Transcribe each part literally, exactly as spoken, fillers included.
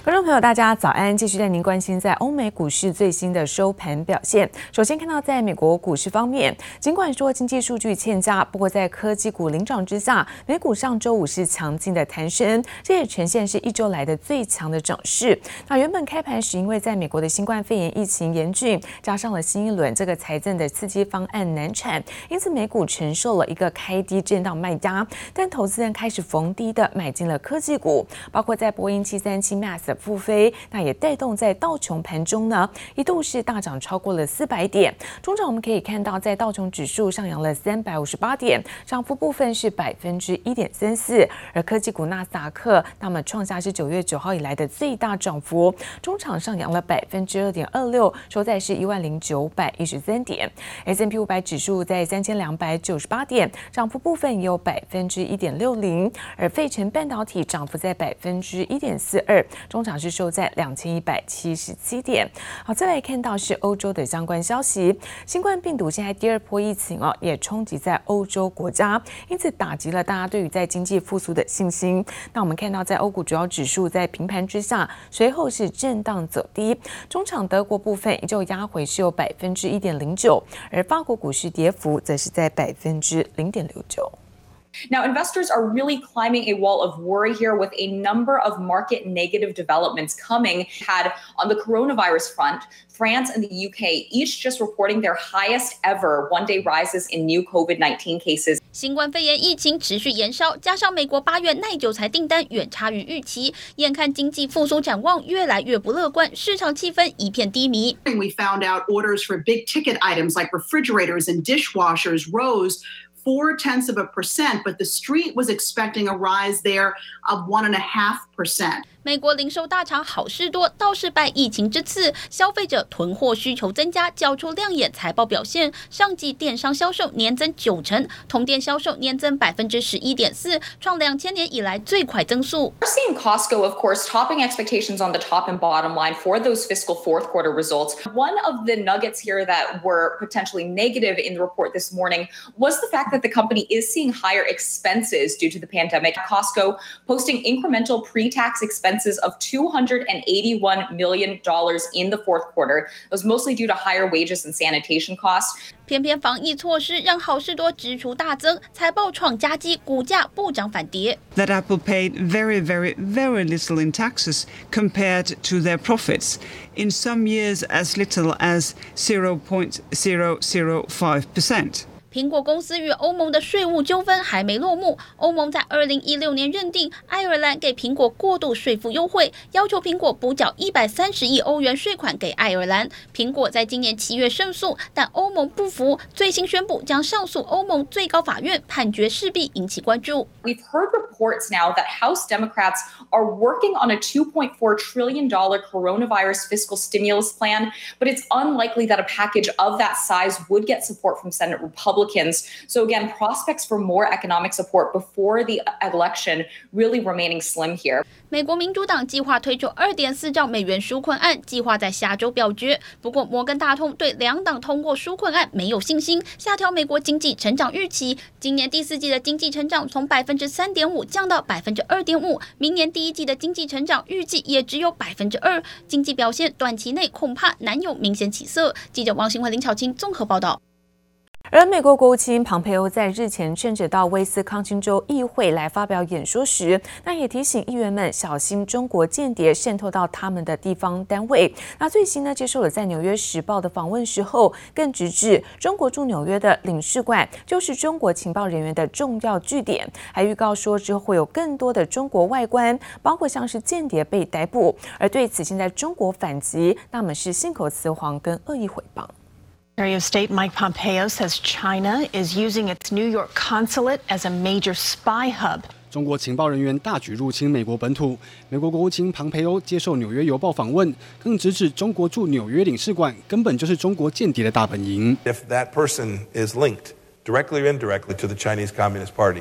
觀眾朋友，大家早安！繼續帶您關心在歐美股市最新的收盤表現。首先看到，在美國股市方面，儘管說經濟數據欠佳，不過在科技股領漲之下，美股上周五是強勁的彈升，這也呈現是一周來的最強的漲勢。那原本開盤時，因為在美國的新冠肺炎疫情嚴峻，加上了新一輪這個財政的刺激方案難產，因此美股承受了一個開低震盪賣壓。但投資人開始逢低的買進了科技股，包括在波音七三七 Max 的復飛，那也帶動在道瓊盤中呢，一度是大漲超過了四百點。中場我們可以看到，在道瓊指數上揚了三百五十八點，漲幅部分是百分之一點三四。而科技股納斯達克，那麼創下是九月九號以來的最大漲幅，中場上揚了百分之二點二六，收在是一萬零九百一十三點。S and P 五百指數在三千兩百九十八點，漲幅部分也有百分之一點六零。而費城半導體漲幅在百分之一點四二，中場是收在兩千一百七十七點。好，再來看到是歐洲的相關消息，新冠病毒現在第二波疫情哦，也衝擊在歐洲國家，因此打擊了大家對於在經濟復甦的信心。那我們看到，在歐股主要指數在平盤之下，隨後是震盪走低，中場德國部分依舊壓回是有百分之一點零九，而法國股市跌幅則是在百分之零點六九。 Now, investors are really climbing a wall of worry here with a number of market negative developments coming. Had on the coronavirus front, France and the U K each just reporting their highest ever one-day rises in new COVID nineteen cases. 新冠肺炎疫情持續延燒，加上美國八月耐久財訂單遠差於預期，眼看經濟復甦展望越來越不樂觀，市場氣氛一片低迷。 We found out orders for big ticket items like refrigerators and dishwashers rose four tenths of a percent, but the street was expecting a rise there of one and a half percent. 美國零售大廠好事多倒是拜疫情之賜，消費者囤貨需求增加，交出亮眼財報表現。上季電商銷售年增九成，同店銷售年增百分之十一點四，創兩千年以來最快增速。 We're seeing Costco, of course, topping expectations on the top and bottom line for those fiscal fourth quarter results. One of the nuggets here that were potentially negative in the report this morning was the fact that the company is seeing higher expenses due to the pandemic. Costco posting incremental pre-tax expenses of two hundred eighty-one million dollars in the fourth quarter. It was mostly due to higher wages and sanitation costs. 偏偏防疫措施讓好事多支出大增，財報創佳績，股價不漲反跌。 That Apple paid very, very, very little in taxes compared to their profits. In some years, as little as zero point zero zero five percent. 蘋果公司與歐盟的稅務糾紛還沒落幕，歐盟在二零一六年認定愛爾蘭給蘋果過度稅負優惠，要求蘋果補繳一百三十億歐元稅款給愛爾蘭。蘋果在今年七月勝訴，但歐盟不服，最新宣布將上訴歐盟最高法院，判決勢必引起關注。 We've heard reports now that House Democrats are working on a two point four trillion dollars coronavirus fiscal stimulus plan, but it's unlikely that a package of that size would get support from Senate Republicans. So again, prospects for more economic support before the election really remaining slim here. 美國民主黨計劃推出二點四兆美元紓困案，計劃在下周表決。不過，摩根大通對兩黨通過紓困案沒有信心，下調美國經濟成長預期。今年第四季的經濟成長從百分之三點五降到百分之二點五，明年第一季的經濟成長預計也只有百分之二。經濟表現短期內恐怕難有明顯起色。記者王新慧、林巧清綜合報道。 而美國國務卿龐佩歐在日前趁着到威斯康星州議會來發表演說時，那也提醒議員們小心中國間諜滲透到他們的地方單位。那最新呢，接受了在紐約時報的訪問時候，更直指中國駐紐約的領事館就是中國情報人員的重要據點，還預告說之後會有更多的中國外官，包括像是間諜被逮捕。而對此，現在中國反擊，那麼是信口雌黃跟惡意誹謗。 Secretary of State Mike Pompeo says China is using its New York consulate as a major spy hub. 中國情報人員大舉入侵美國本土，美國國務卿龐佩歐接受《紐約郵報》訪問，更直指中國駐紐約領事館根本就是中國間諜的大本營。 If that person is linked directly or indirectly to the Chinese Communist Party,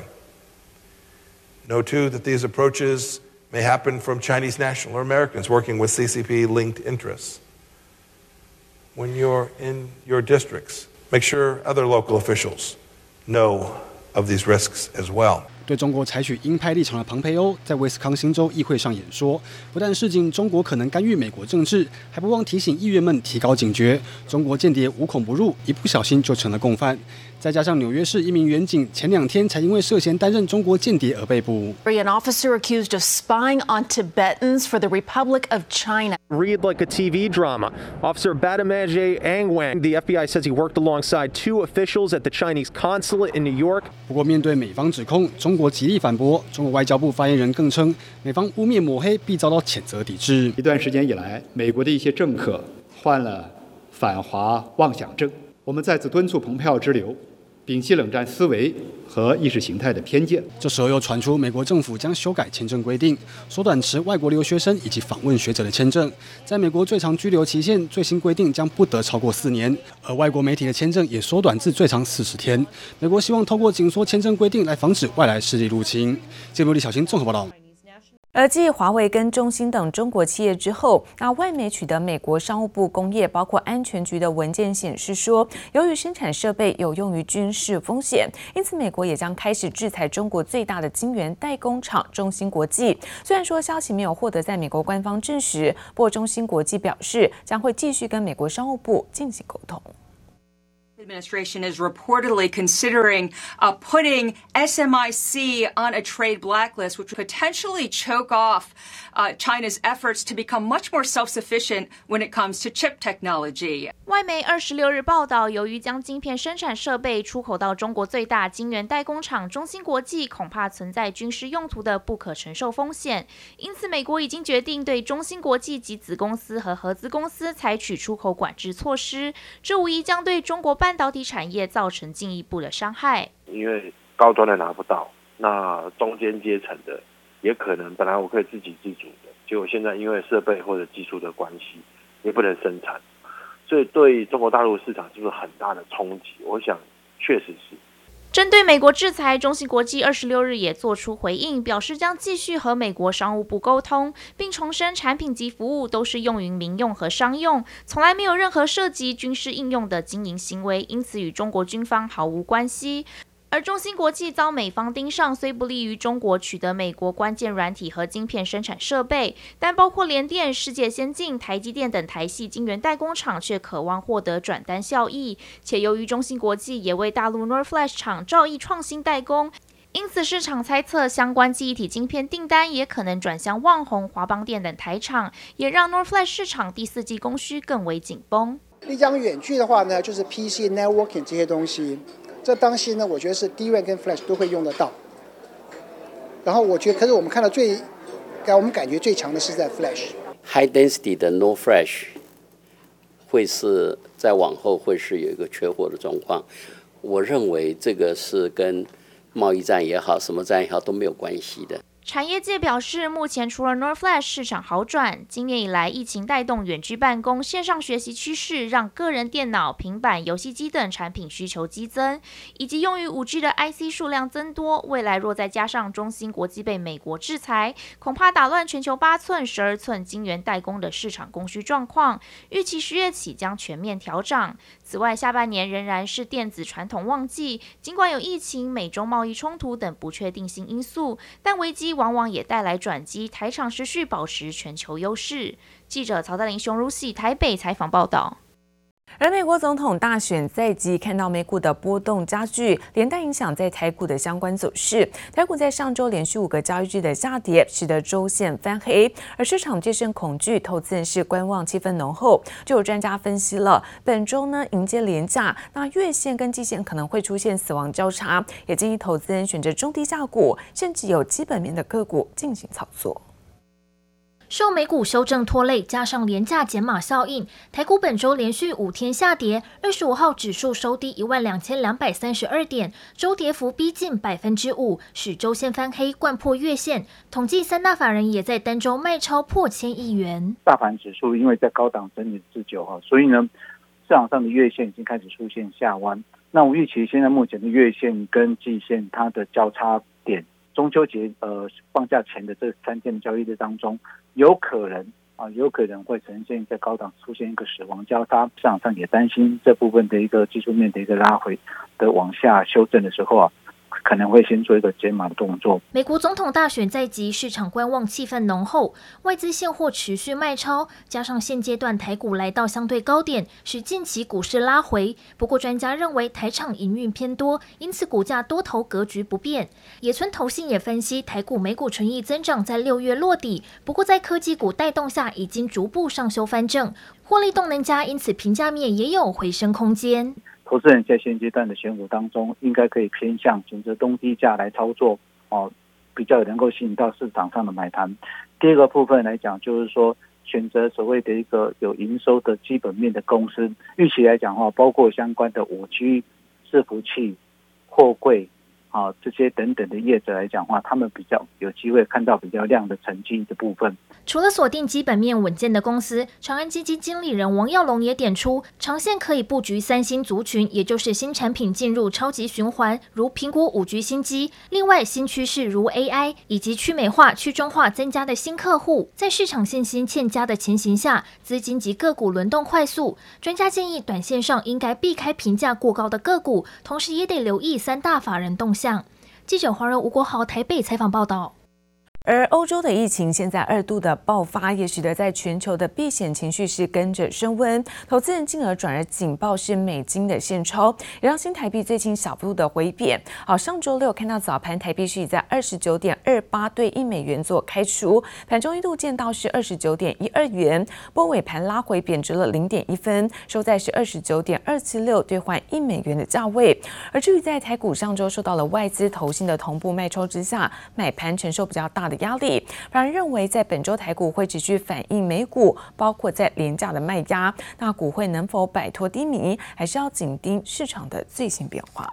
know too that these approaches may happen from Chinese national or Americans working with C C P-linked interests. When you're in your districts, make sure other local officials know of these risks as well. 對中國採取鷹派立場的龐培歐在威斯康星州議會上演說，不但示警中國可能干預美國政治，還不忘提醒議員們提高警覺，中國間諜無孔不入，一不小心就成了共犯。再加上紐約市一名員警前兩天才因為涉嫌擔任中國間諜而被捕。 An officer accused of spying on Tibetans for the Republic of China. Read like a T V drama. Officer Badamaje Angwang, the F B I says he worked alongside two officials at the Chinese consulate in New York. 不過面對美方指控，中國極力反駁。中國外交部發言人更稱，美方污衊抹黑必遭到譴責抵制。 一段時間以來，美國的一些政客患了反華妄想症。我們再次敦促蓬佩奧之流，摒棄冷戰思維和意識形態的偏見。 這時候又傳出美國政府將修改簽證規定，縮短持外國留學生以及訪問學者的簽證。在美國最長居留期限最新規定將不得超過四年，而外國媒體的簽證也縮短至最長四十天。美國希望透過緊縮簽證規定來防止外來勢力入侵。記者李小新綜合報道。 而繼華為跟中興等中國企業之後，那外媒取得美國商務部工業包括安全局的文件顯示說，由於生產設備有用於軍事風險，因此美國也將開始制裁中國最大的晶圓代工廠中芯國際。雖然說消息沒有獲得在美國官方證實，不過中芯國際表示將會繼續跟美國商務部進行溝通。 Administration is reportedly considering uh, putting S M I C on a trade blacklist, which would potentially choke off uh, China's efforts to become much more self-sufficient when it comes to chip technology. 外媒二十六日報道，由於將晶片生產設備出口到中國最大晶圓代工廠中芯國際，恐怕存在軍事用途的不可承受風險，因此美國已經決定對中芯國際及子公司和合資公司採取出口管制措施，這無疑將對中國半導體產業造成進一步的傷害。 因為高端的拿不到，那中間階層的也可能本來我可以自給自足的，結果現在因為設備或者技術的關係，也不能生產，所以對中國大陸市場是不是很大的衝擊？我想確實是。 針對美國制裁，中芯國際二十六日也做出回應，表示將繼續和美國商務部溝通，並重申產品及服務都是用於民用和商用，從來沒有任何涉及軍事應用的經營行為，因此與中國軍方毫無關係。而中芯國際遭美方盯上，雖不利於中國取得美國關鍵軟體和晶片生產設備，但包括聯電、世界先進、台積電等台系晶圓代工廠卻渴望獲得轉單效益。且由於中芯國際也為大陸 N O R Flash 廠兆易創新代工，因此市場猜測相關記憶體晶片訂單也可能轉向旺宏、華邦電等台廠，也讓 N O R Flash 市場第四季供需更為緊繃。 你講遠距的話呢，就是 P C、Networking 這些東西。這東西呢，我覺得是 D RAM 跟 Flash 都會用得到。然後我覺得，可是我們看到最，給我們感覺最強的是在 Flash。High density 的 No Flash 會是在往後會是有一個缺貨的狀況。我認為這個是跟貿易戰也好，什麼戰也好都沒有關係的。 產業界表示，目前除了 N O R Flash 市場好轉，今年以來疫情帶動遠距辦公、線上學習趨勢，讓個人電腦、平板、遊戲機等產品需求激增，以及用於 五 G 的 I C 數量增多。未來若再加上中芯國際被美國制裁，恐怕打亂全球八寸、十二寸晶圓代工的市場供需狀況，預期十月起將全面調漲。此外，下半年仍然是電子傳統旺季，儘管有疫情、美中貿易衝突等不確定性因素，但危機往往也帶來轉機，台廠持續保持全球優勢。記者曹德林、熊如喜台北採訪報道。 而美國總統大選在即，看到美股的波動加劇，連帶影響在台股的相關走勢。台股在上周連續五個交易日的下跌，使得周線翻黑，而市場戒慎恐懼，投資人是觀望氣氛濃厚。就有專家分析了，本周呢迎接連假，那月線跟季線可能會出現死亡交叉，也建議投資人選擇中低價股，甚至有基本面的個股進行操作。 受美股修正拖累，加上連假減碼效應，台股本周連續五天下跌。二十五號指數收低一萬兩千兩百三十二點，周跌幅逼近百分之五，使周線翻黑，摜破月線。統計三大法人也在單周賣超破千億元。 大盤指數因為在高檔整理之久哈，所以呢，市場上的月線已經開始出現下彎。那我預期現在目前的月線跟季線它的交叉點，中秋節呃放假前的這三天的交易日當中，有可能啊，有可能會呈現在高檔出現一個死亡交叉，市場上也擔心這部分的一個技術面的一個拉回的往下修正的時候啊， 可能會先做一個減碼的動作。 美國總統大選在即，市場觀望氣氛濃厚，外資現貨持續賣超，加上現階段台股來到相對高點，使近期股市拉回。不過專家認為台廠營運偏多，因此股價多頭格局不變。野村投信也分析，台股每股純益增長在六月落底，不過在科技股帶動下，已經逐步上修翻正，獲利動能佳，因此評價面也有回升空間。 投資人在現階段的選股當中，應該可以偏向選擇中低價來操作哦，比較能夠吸引到市場上的買盤。第二個部分來講，就是說選擇所謂的一個有營收的基本面的公司，預期來講的話，包括相關的五 G、伺服器、貨櫃啊這些等等的業者來講的話，他們比較有機會看到比較亮的成績的部分。 除了鎖定基本面穩健的公司，長安基金經理人王耀龍也點出，長線可以布局三星族群，也就是新產品進入超級循環，如蘋果五 G 新機。另外，新趨勢如 A I 以及去美化、去中化增加的新客戶，在市場信心欠佳的情形下，資金及個股輪動快速。專家建議，短線上應該避開評價過高的個股，同時也得留意三大法人動向。記者黃仁吳國豪台北採訪報道。 而歐洲的疫情現在二度的爆發，也使得在全球的避險情緒是跟着升溫，投資人進而轉而警報是美金的現鈔，也讓新台幣最近小幅度的回貶。好，上周六看到早盤台幣是以在二十九點二八對一美元做開出，盤中一度見到是二十九點一二元，不過尾盤拉回貶值了零點一分，收在是二十九點二七六兌換一美元的價位。而至於在台股上周受到了外資投信的同步賣超之下，買盤承受比較大的壓力，反而認為在本周台股會持續反映美股，包括在連假的賣壓，那股會能否擺脫低迷，還是要緊盯市場的最新變化。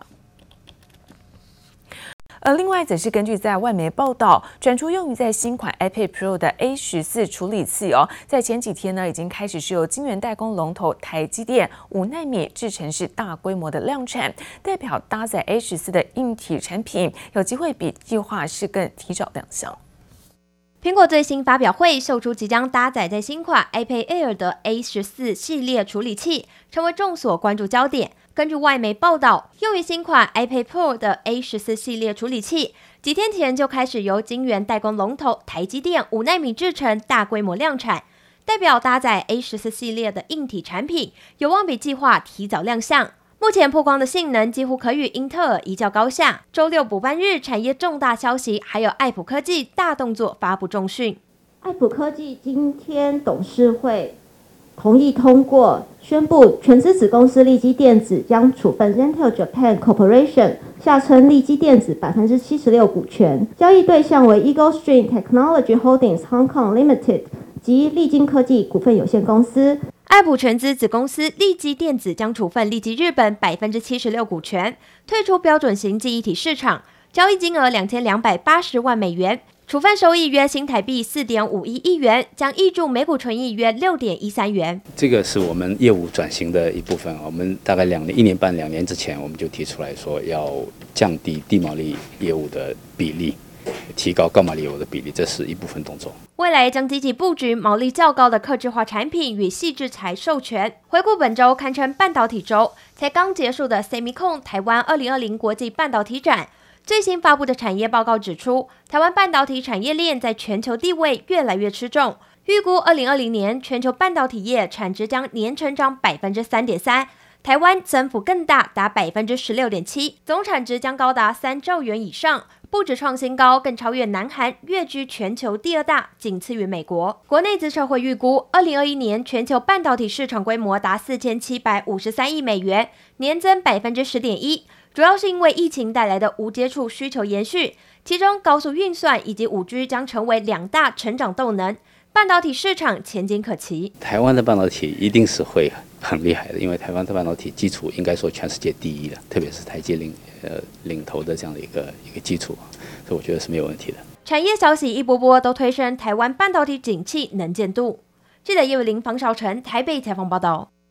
而另外則是根據在外媒報道，轉出用於在新款 iPad Pro 的 A 十四 處理器哦，在前幾天呢已經開始是由晶圓代工龍頭台積電五奈米製程是大規模的量產，代表搭載 A 十四 的硬體產品有機會比計劃是更提早亮相。 蘋果最新發表會秀出即將搭載在新款 iPad Air 的 A 十四 系列處理器，成為眾所關注焦點。根據外媒報道，用於新款 iPad Pro 的 A 十四 系列處理器，幾天前就開始由晶圓代工龍頭台積電五奈米製程大規模量產，代表搭載 A 十四 系列的硬體產品有望比計劃提早亮相。目前曝光的性能幾乎可與英特爾一較高下。週六補班日產業重大消息，還有愛普科技大動作發布重訊。 愛普科技今天董事會同意通過宣布，全資子公司力積電子將處分 Zentel Japan Corporation 下稱力積電子百分之七十六股權，交易對象為 Eagle Stream Technology Holdings Hong Kong Limited 及力晶科技股份有限公司。 愛普全資子公司力積電子將處分力積日本百分之七十六股權，退出標準型記憶體市場，交易金額兩千兩百八十萬美元，處分收益約新台幣四點五一億元，將挹注每股純益約六點一三元。 這個是我們業務轉型的一部分，我們大概兩年、一年半、兩年之前，我們就提出來說要降低低毛利業務的比例，提高高毛利業務的比例，這是一部分動作。 未來將積極布局毛利較高的客製化產品與矽智財授權。回顧本周堪稱半導體周，才剛結束的 SEMICON 台灣二零二零國際半導體展，最新發布的產業報告指出，台灣半導體產業鏈在全球地位越來越吃重。預估二零二零年全球半導體業產值將年成長百分之三點三，台灣增幅更大，達百分之十六點七，總產值將高達三兆元以上。不止創新高，更超越南韓，躍居全球第二大，僅次於美國。國內資策會預估，二零二一年全球半導體市場規模達四千七百五十三億美元，年增百分之十點一，主要是因為疫情帶來的無接觸需求延續，其中高速運算以及五 G 將成為兩大成長動能，半導體市場前景可期。 台灣的半導體一定是會很厲害的，因為台灣的半導體基礎應該說全世界第一的，特別是台積領呃領頭的這樣的一個一個基礎，所以我覺得是沒有問題的。 產業消息一波波都推升台灣半導體景氣能見度。記者葉偉玲、方少成台北採訪報道。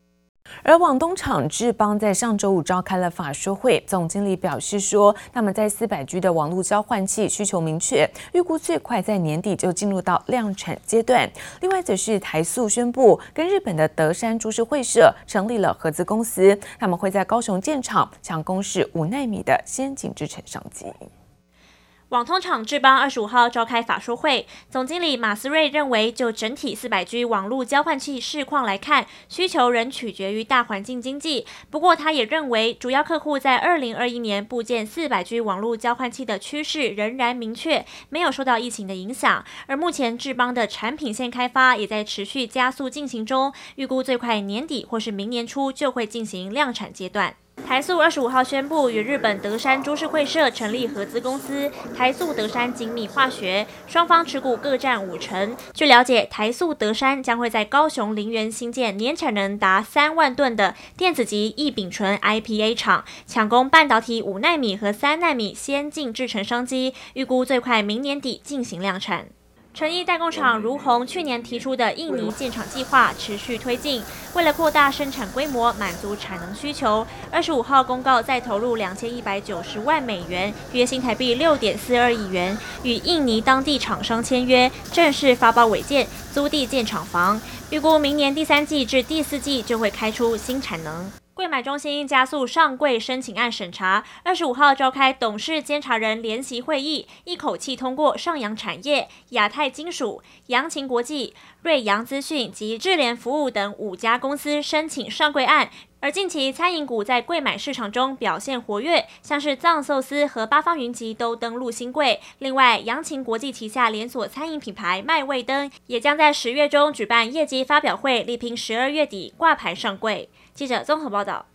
而網通廠智邦在上周五召開了法說會，總經理表示說，他們在四百 G 的網絡交換器需求明確，預估最快在年底就進入到量產階段。另外，則是台塑宣布跟日本的德山株式會社成立了合資公司，他們會在高雄建廠，搶攻是五奈米的先進製程商機。 網通廠智邦二十五號召開法說會，總經理馬思瑞認為，就整體四百 G 網絡交換器市況來看，需求仍取決於大環境經濟。不過，他也認為，主要客戶在二零二一年部件四百 G 網絡交換器的趨勢仍然明確，沒有受到疫情的影響。而目前智邦的產品線開發也在持續加速進行中，預估最快年底或是明年初就會進行量產階段。台塑二十五號宣布與日本德山株式會社成立合資公司台塑德山精密化學，雙方持股各占五成。據了解，台塑德山將會在高雄林園新建年產能達三萬噸的電子級異丙醇 I P A 廠，搶攻半導體五奈米和三奈米先進製程商機，預估最快明年底進行量產。成衣代工廠如虹去年提出的印尼建廠計劃持續推進，為了擴大生產規模，滿足產能需求，二十五號公告再投入兩千一百九十萬美元，約新台幣六點四二億元，與印尼當地廠商簽約，正式發包違建，租地建廠房，預估明年第三季至第四季就會開出新產能。櫃買中心加速上櫃申請案審查，二十五號召開董事監察人聯席會議，一口氣通過上揚產業、亞太金屬、揚勤國際、瑞陽資訊及智聯服務等五家公司申請上櫃案。而近期餐飲股在櫃買市場中表現活躍，像是藏壽司和八方雲集都登陸新櫃。另外，揚勤國際旗下連鎖餐飲品牌麥味登也將在十月中舉辦業績發表會，力拼十二月底掛牌上櫃。記者綜合報道。